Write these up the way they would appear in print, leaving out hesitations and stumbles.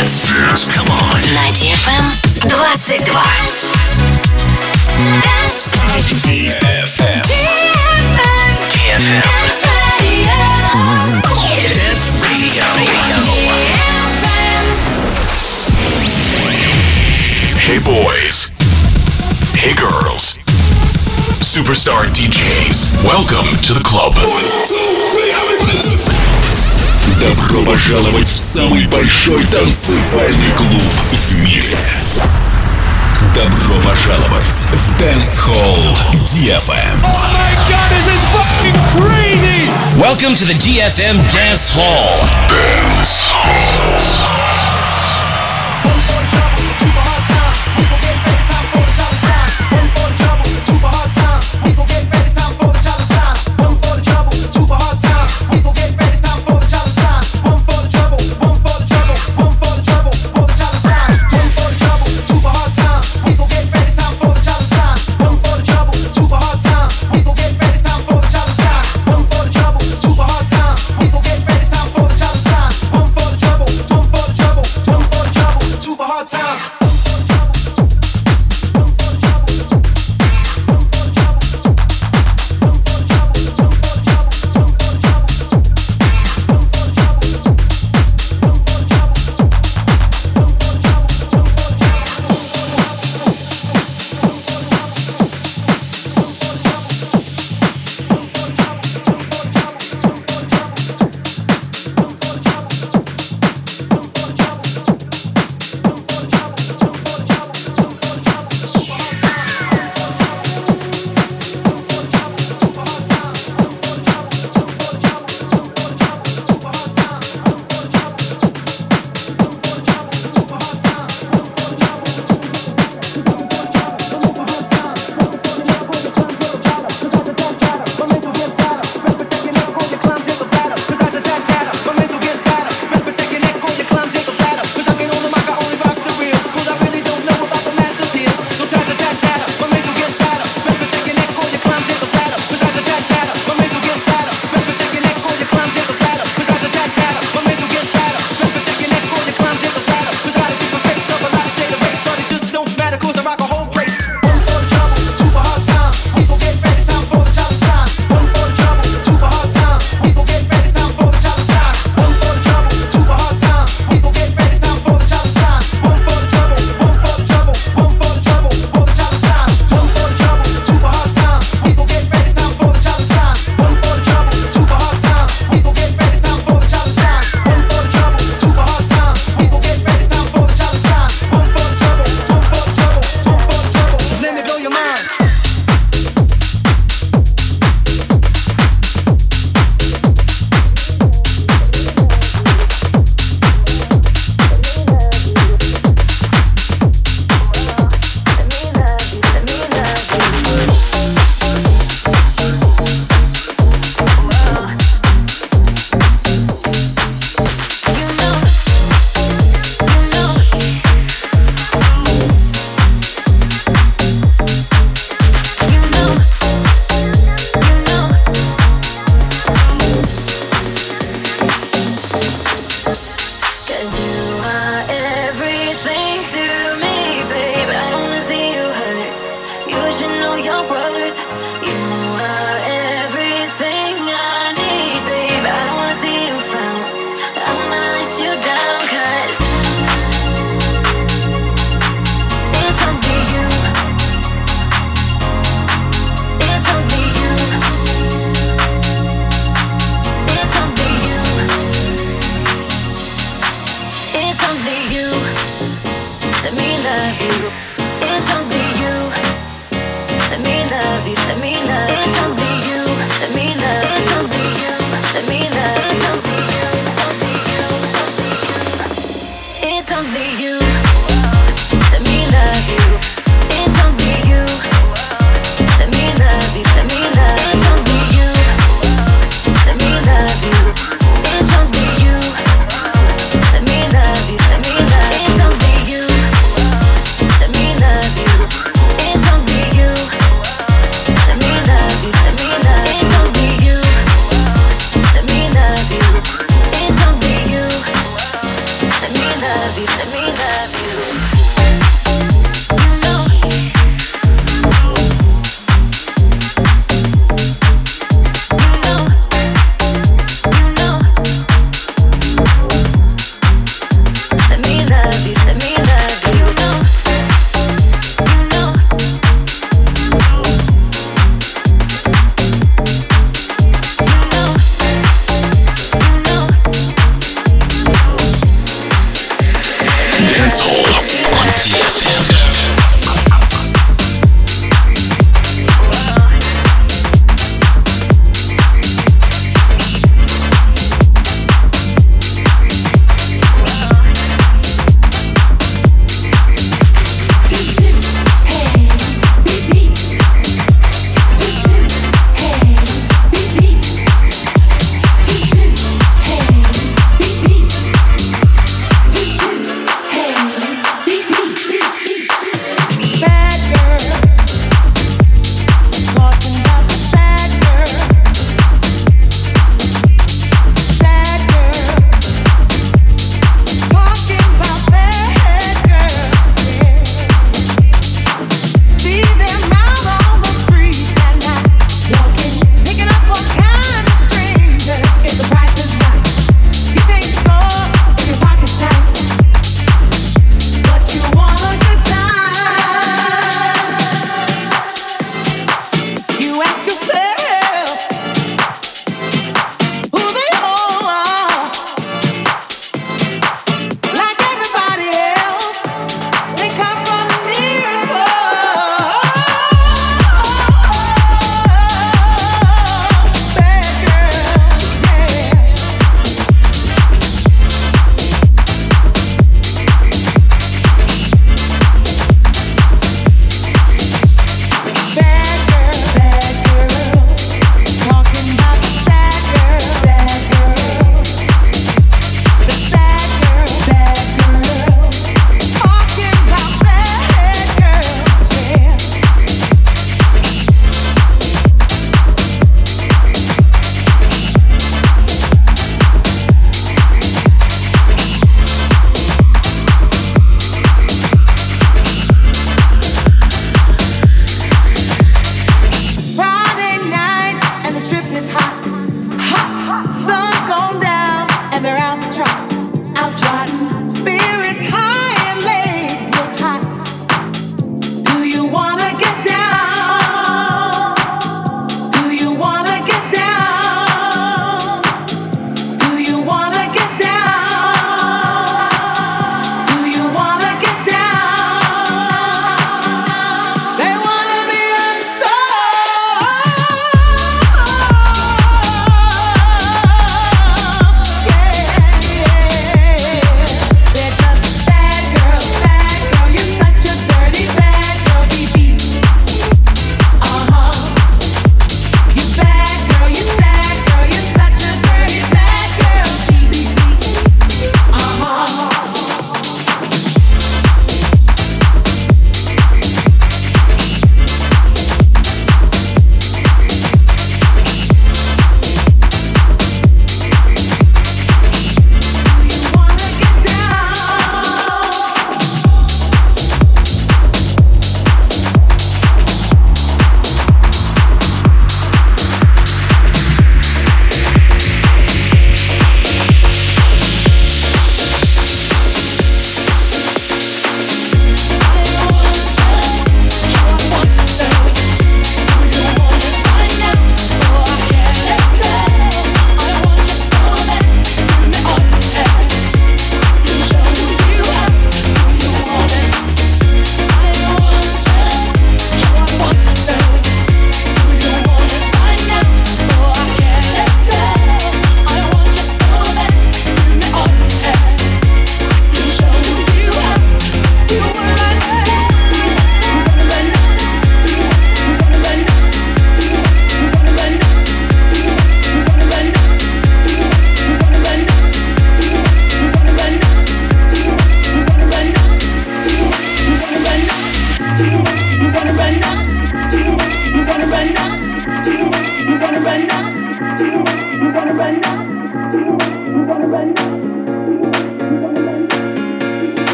Dance. Come on. На DFM 22. DFM. Dance Radio. Dance Radio. Hey boys. Hey girls. Superstar DJs. Welcome to the club. Добро пожаловать в самый большой танцевальный клуб в мире. Добро пожаловать в Dance Hall DFM. Oh my god, this is fucking crazy! Welcome to the DFM Dance Hall. Dance Hall. Let me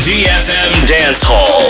DFM Dance Hall.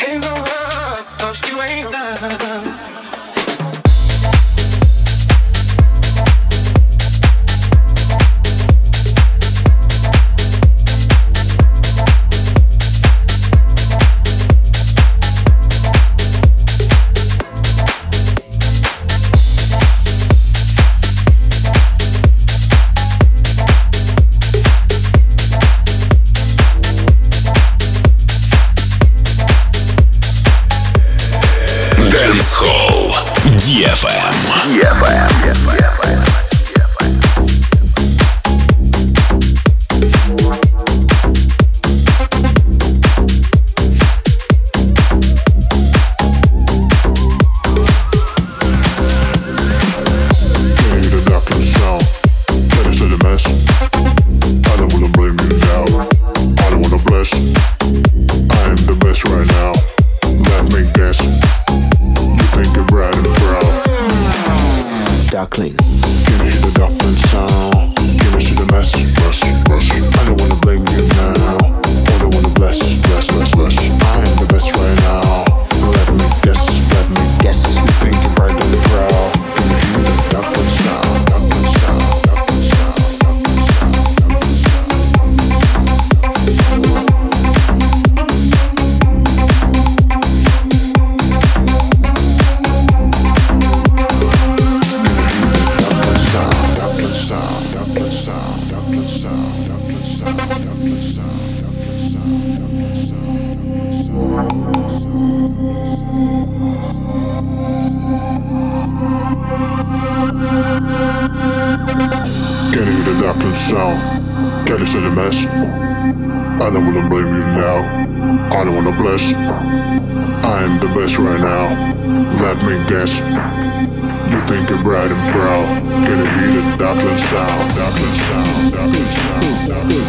ain't no run, 'cause you ain't done. Dancehall DFM. Duckling. Can you hear the duckling sound? Can you see the mess? Rush, rush. I don't wanna blame you now. Only wanna bless, bless, bless, bless. I am the best right now. Let me guess, let me guess. You think you're right on the crowd? Can you hear the duckling sound? Duckling sound, duckling sound, duckling sound, duckling Can you hear the duckling sound? Can you see the mess? I don't wanna blame you now. I don't wanna bless. I am the best right now. Let me guess. You think you're bright and proud. Can you hear the duckling sound? Duckling sound, duckling sound, duckling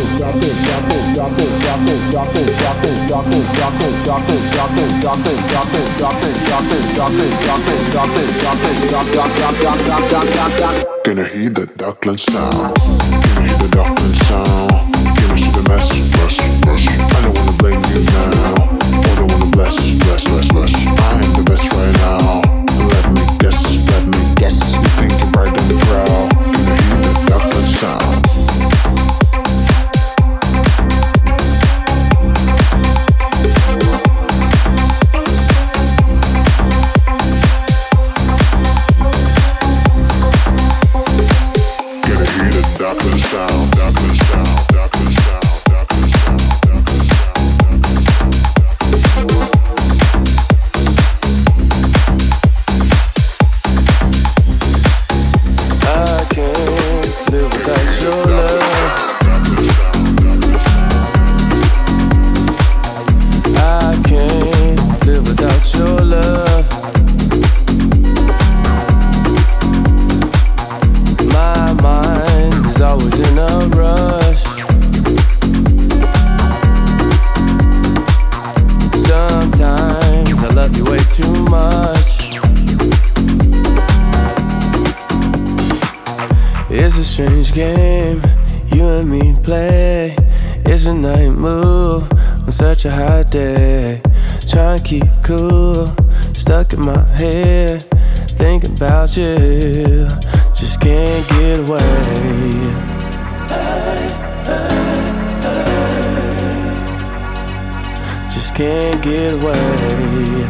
sound. Can you hear the duckling sound? Can you hear the duckling sound? Can you see the mess? Rush, rush. I don't wanna blame you now. I don't wanna bless, bless, bless, bless. I am the best right now. Let me guess, let me guess. You think you're bright and proud. Can you hear the duckling sound? Duckling sound, duckling sound, duckling sound, duckling sound, duckling sound. I can't live without your love. I can't live without your love. My mind is always in a rush. Sometimes I love you way too much. It's a strange game you and me play. It's a night move on such a hot day. Trying to keep cool, stuck in my head, thinking about you. Just can't get away. Just can't get away.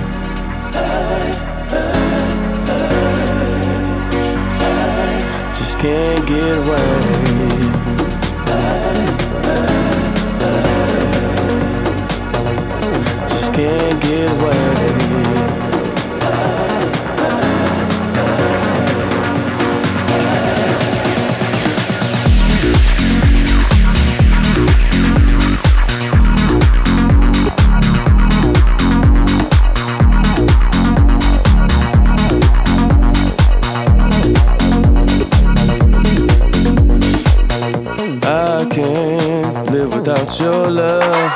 Just can't get away. Just can't get away. I can't live without your love.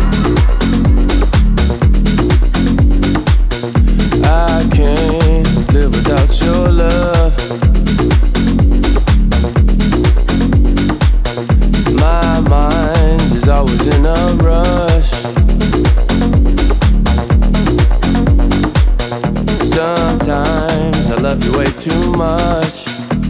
I can't live without your love. My mind is always in a rush. too much.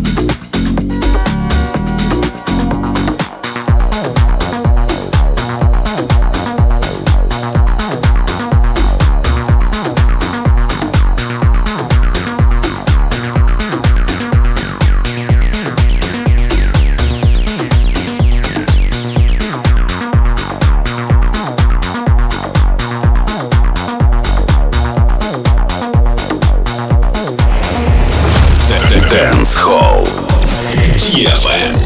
Dance Hall DFM.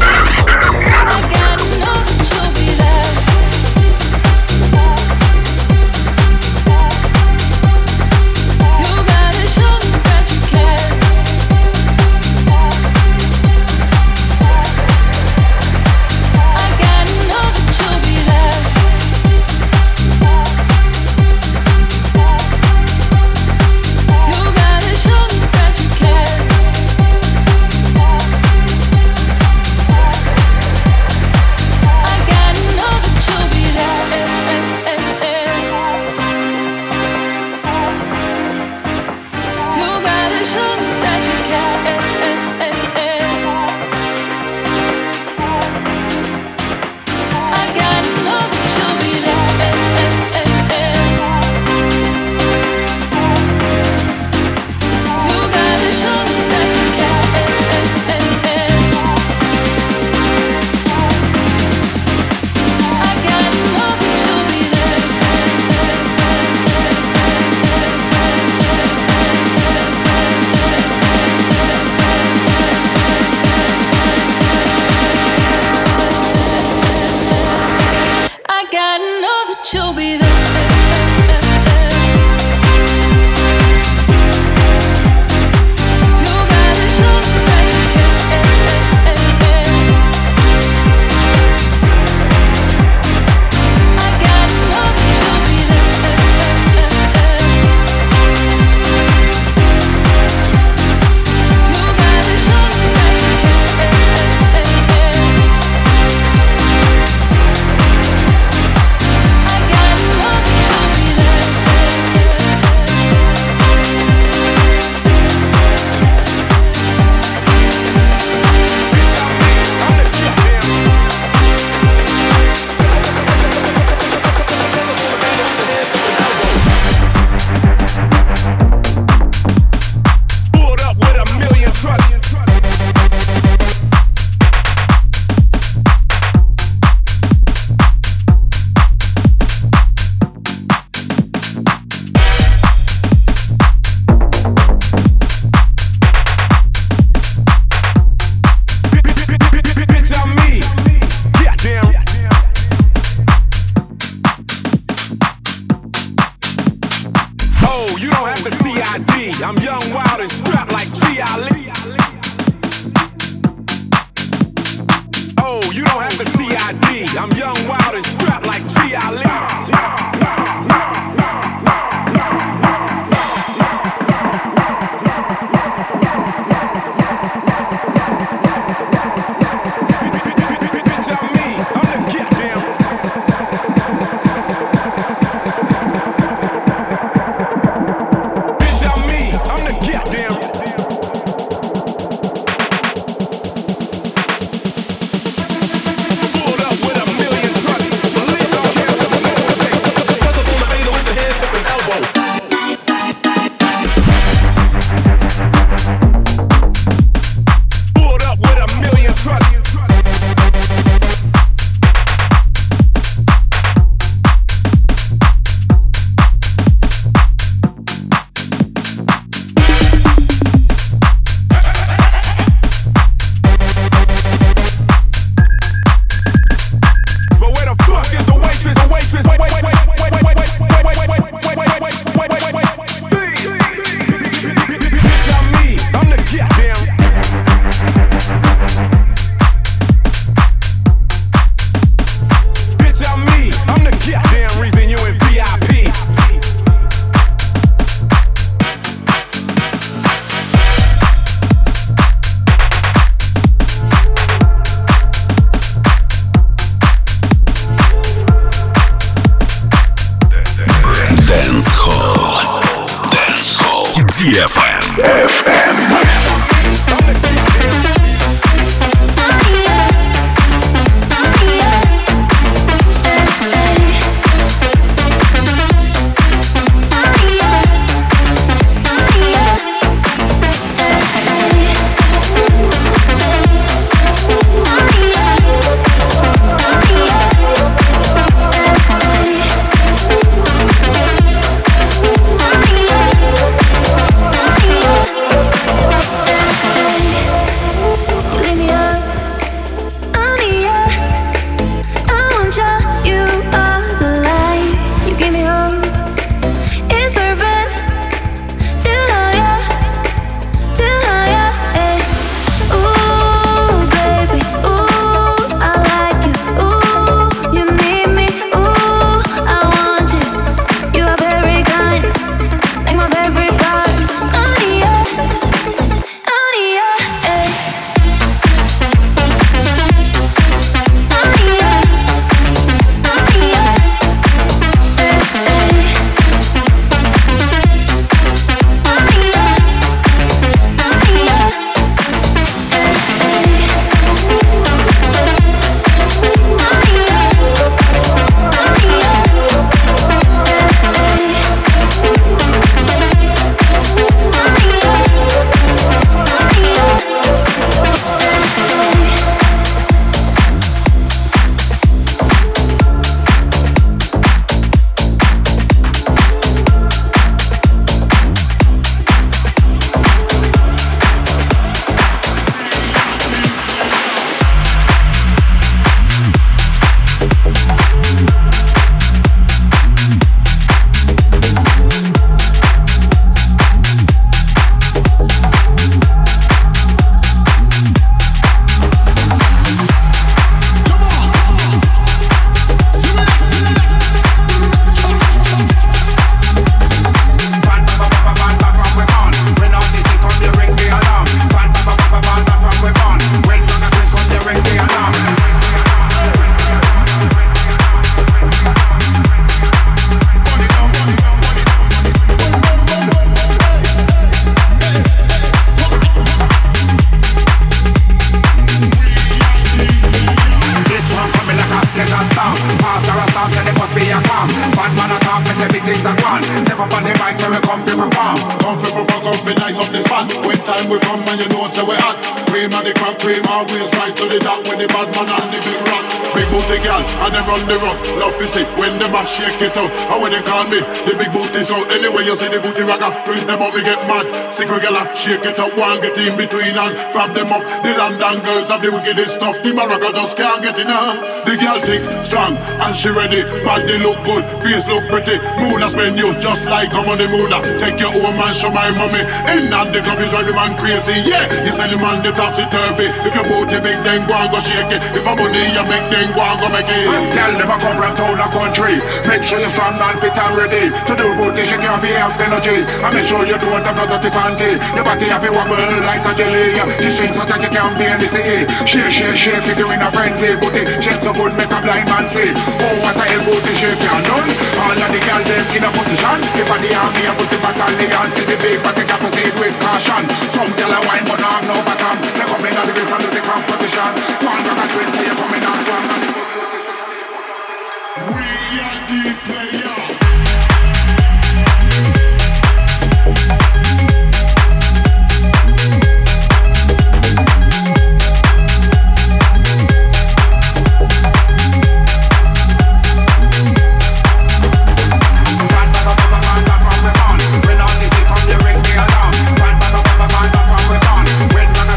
I'm young, wild, and strapped like G. Ali. Oh, you don't have the CID. I'm young, wild, and strapped like G. Ali. DFM. farm. Comfy before comfy, nice up the spot. When time we come and you know say we hot. Cream and the crack, cream always rise to the top with the bad man and the big rock. Big booty girl and them run the run. Love to see when them a shake it out. And when they call me, the big booty's out. Anyway you see the booty rocker, twist them up, me get mad. Secret girl shake it up, one get in between and grab them up. The London girls have the wickedest stuff. The Morocco just can't get enough. The girl thick, strong and she ready. Body look good, face look pretty. Moon a spend you just like I'm on the moon. Take your home and show my mommy. In and the club is drive the man crazy. Yeah, you sell the man the topsy-turvy. If your booty big then go and go shake it. If I'm money you make then go and go make it. Girl never come from town or country. Make sure you're strong and fit and ready. To do booty shake you have energy. And make sure you don't have no dirty panty. Your body have a wobble like a jelly. The strings that you can't barely see. Shake it doing a frenzy. Booty shake so good make a blind man see. Oh what a hell booty shake you done. All of the girls them in a position. If I the army a booty battalion. See the big body can proceed with caution. Some girl a wine but no have no bottom. They come in on the base and do the competition. 120 you coming on strong. We are the player. When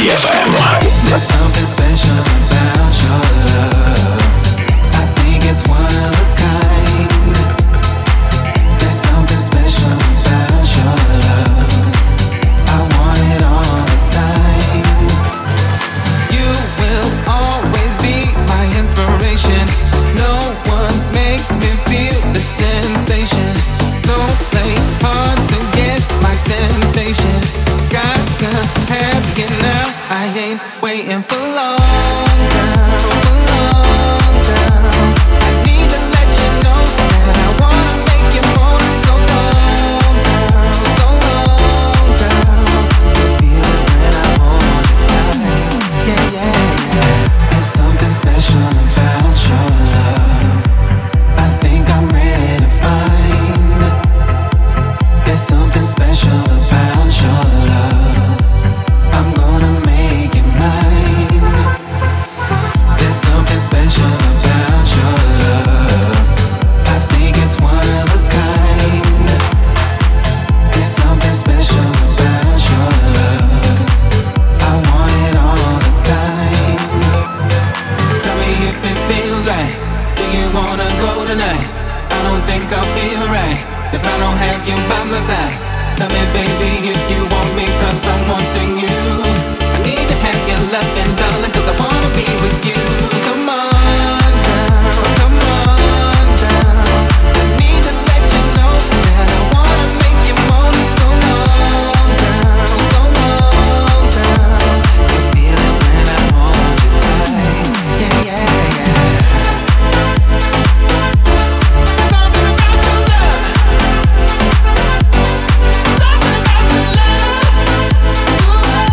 DFM. There's something special about your love. I think it's one of a kind. There's something special about your love. I want it all the time. You will always be my inspiration. No one makes me feel the sensation. Don't play hard to get my temptation. Got to have you now. I ain't waiting for long now, for long now. I need to let you know that I wanna make you more. So long now, so long now. You feel it when I hold you tight. Yeah, yeah, yeah. There's something special about your love. I think I'm ready to find. There's something special about your love. I'm gonna make it mine. There's something special about your love. I think it's one of a kind. There's something special about your love. I want it all the time. Tell me if it feels right. Do you wanna go tonight? I don't think I'll feel right if I don't have you by my side. Tell me baby if you want me, cause I'm wanting you. I need to have your loving, darling, cause I wanna be with you. Come on down, come on down. I need to let you know that I wanna make you moan. So long down, so long down. You feel it when I hold you tight. Yeah, yeah, yeah. Something about your love. Something about your love. Ooh.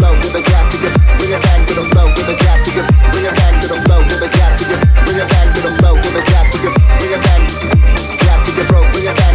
flow, give it back to you. Bring it back to the flow, give it back to you. Bring it back to the flow, give it back to you. Bring it back to the flow, give it back to you. Bring it back to you, bro. Bring it back.